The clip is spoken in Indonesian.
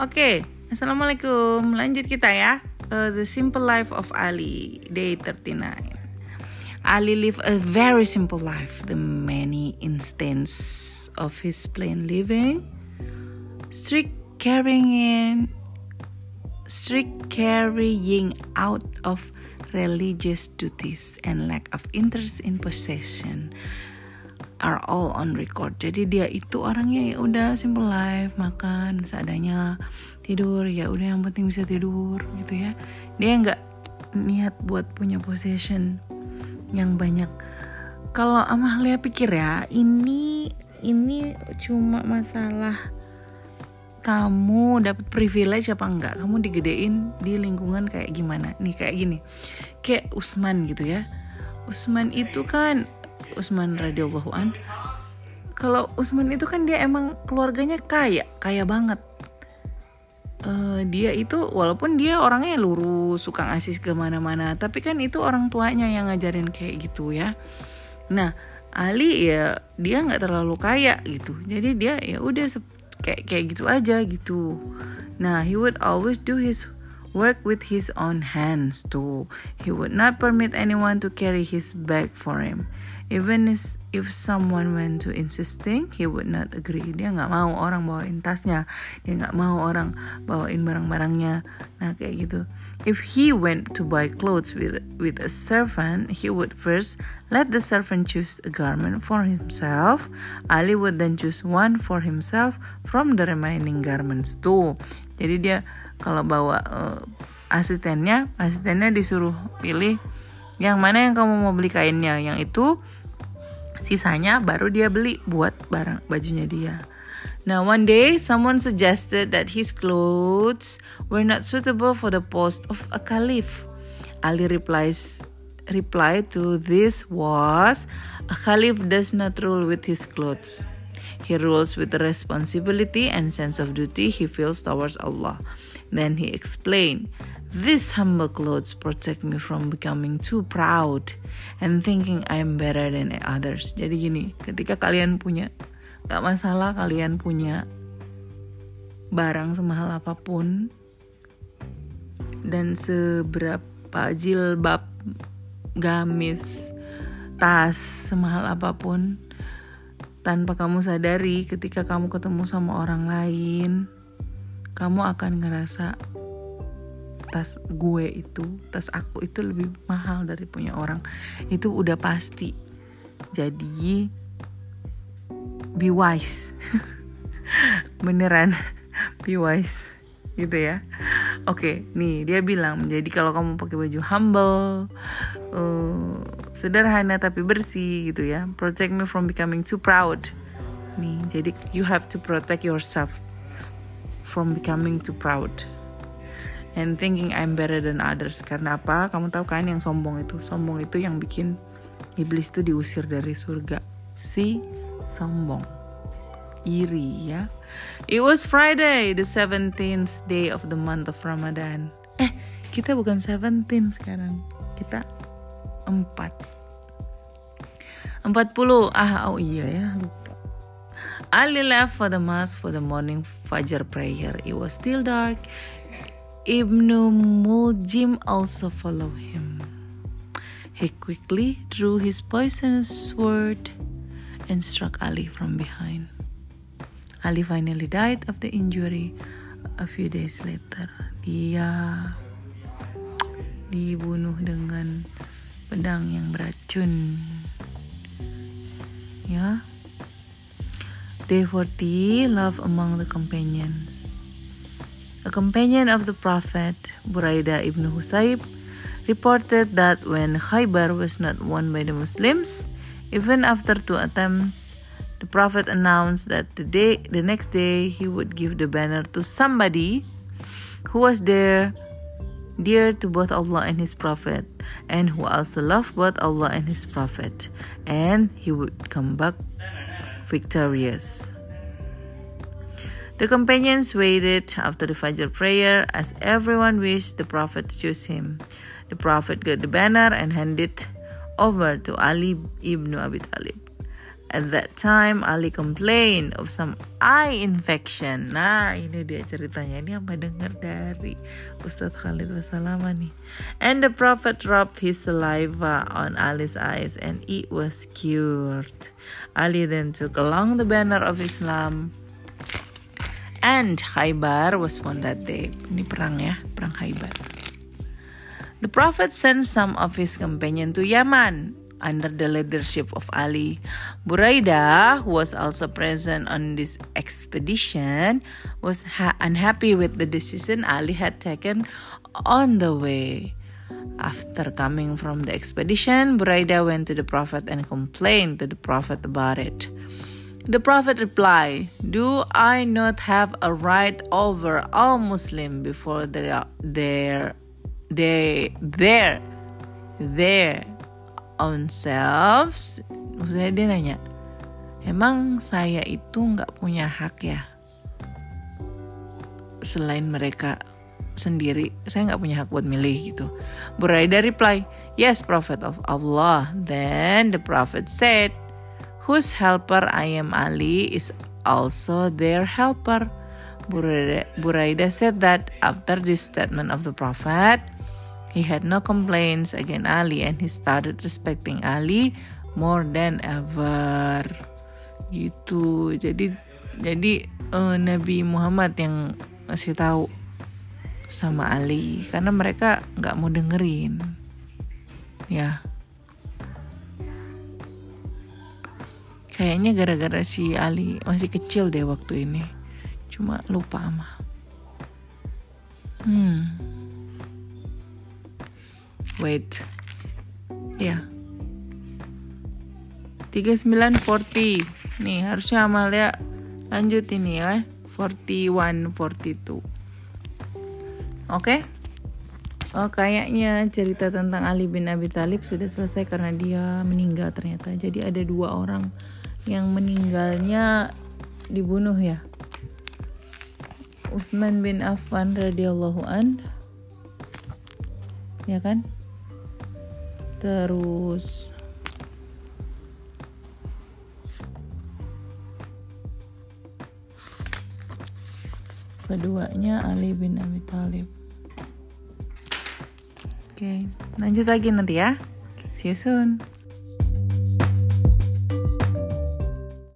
Oke, Assalamualaikum. Lanjut kita ya. The Simple Life of Ali, Day 39. Ali lived a very simple life. The many instances of his plain living, strict carrying out of religious duties, and lack of interest in possession are all on record. Jadi dia itu orangnya ya udah simple life, makan seadanya, tidur ya udah yang penting bisa tidur gitu ya. Dia nggak niat buat punya possession yang banyak. Kalau Amalia pikir ya, ini cuma masalah kamu dapat privilege apa enggak, kamu digedein di lingkungan kayak gimana. Nih kayak gini, kayak Utsman gitu ya. Utsman radhiyallahu an. Kalau Utsman itu kan dia emang keluarganya kaya banget. Dia itu walaupun dia orangnya lurus, suka ngasih kemana-mana, tapi kan itu orang tuanya yang ngajarin kayak gitu ya. Nah, Ali ya dia nggak terlalu kaya gitu, jadi dia ya udah kayak gitu aja gitu. Nah, he would always do his work with his own hands too. He would not permit anyone to carry his bag for him. Even if someone went to insisting, he would not agree. Dia nggak mau orang bawain tasnya, dia nggak mau orang bawain barang-barangnya. Nah kayak gitu. If he went to buy clothes with a servant, he would first let the servant choose a garment for himself. Ali would then choose one for himself from the remaining garments too. Jadi dia kalau bawa asistennya disuruh pilih yang mana yang kamu mau beli kainnya, yang itu sisanya baru dia beli buat bajunya dia. Now one day someone suggested that his clothes were not suitable for the post of a caliph. Ali reply to this was, a caliph does not rule with his clothes. He rules with the responsibility and sense of duty he feels towards Allah. Then he explained, these humble clothes protect me from becoming too proud and thinking I am better than others. Jadi gini, ketika kalian punya, gak masalah kalian punya barang semahal apapun dan seberapa jilbab, gamis, tas semahal apapun, tanpa kamu sadari ketika kamu ketemu sama orang lain, kamu akan ngerasa tas aku itu lebih mahal dari punya orang. Itu udah pasti. Jadi be wise. Beneran be wise gitu ya. Oke, nih dia bilang, jadi kalau kamu pakai baju humble, sederhana tapi bersih gitu ya, protect me from becoming too proud. Nih, jadi you have to protect yourself from becoming too proud and thinking I'm better than others. Karena apa? Kamu tahu kan yang sombong itu yang bikin iblis itu diusir dari surga. Si sombong, iri ya. It was Friday, the 17th day of the month of Ramadan. Kita bukan 17 sekarang, kita 40. Oh iya ya, lupa. Ali left for the mosque for the morning Fajr prayer. It was still dark. Ibnu Muljim also followed him. He quickly drew his poisonous sword and struck Ali from behind. Ali finally died of the injury a few days later. Dia dibunuh dengan pedang yang beracun. Ya. Day 40, love among the companions. A companion of the Prophet, Buraidah ibn Husayb, reported that when Khaybar was not won by the Muslims, even after 2 attempts, the Prophet announced that the next day he would give the banner to somebody who was dear to both Allah and His Prophet, and who also loved both Allah and His Prophet, and he would come back victorious. The companions waited after the Fajr prayer as everyone wished the Prophet to choose him. The Prophet got the banner and handed it over to Ali ibn Abi Talib. At that time, Ali complained of some eye infection. Nah, ini dia ceritanya. Ini apa dengar dari Ustadz Khalid Wasalama nih. And the Prophet rubbed his saliva on Ali's eyes and it was cured. Ali then took along the banner of Islam. And Khaybar was won that day. Ini perang ya, perang Khaybar. The Prophet sent some of his companions to Yaman under the leadership of Ali. Buraidah, who was also present on this expedition, was unhappy with the decision Ali had taken on the way. After coming from the expedition, Buraidah went to the Prophet and complained to the Prophet about it. The Prophet replied, "Do I not have a right over all Muslims before their own selves?" Maksudnya dia nanya, emang saya itu gak punya hak ya? Selain mereka sendiri, saya gak punya hak buat milih gitu. Buraidah reply, "Yes, Prophet of Allah." Then the Prophet said, "Whose helper I am, Ali, is also their helper." Buraidah said that after this statement of the Prophet, he had no complaints against Ali and he started respecting Ali more than ever. Gitu. Jadi Nabi Muhammad yang ngasih tahu sama Ali karena mereka nggak mau dengerin. Ya. Kayaknya gara-gara si Ali masih kecil deh waktu ini. Cuma lupa ama. Wait. Ya. 3940. Nih, harusnya Amalia lanjut ini ya. 41, 42. Oke? Oh, kayaknya cerita tentang Ali bin Abi Thalib sudah selesai karena dia meninggal ternyata. Jadi ada 2 orang yang meninggalnya dibunuh ya. Utsman bin Affan radhiyallahu an. Ya kan? Terus keduanya Ali bin Abi Thalib. Oke, lanjut lagi nanti ya. See you soon.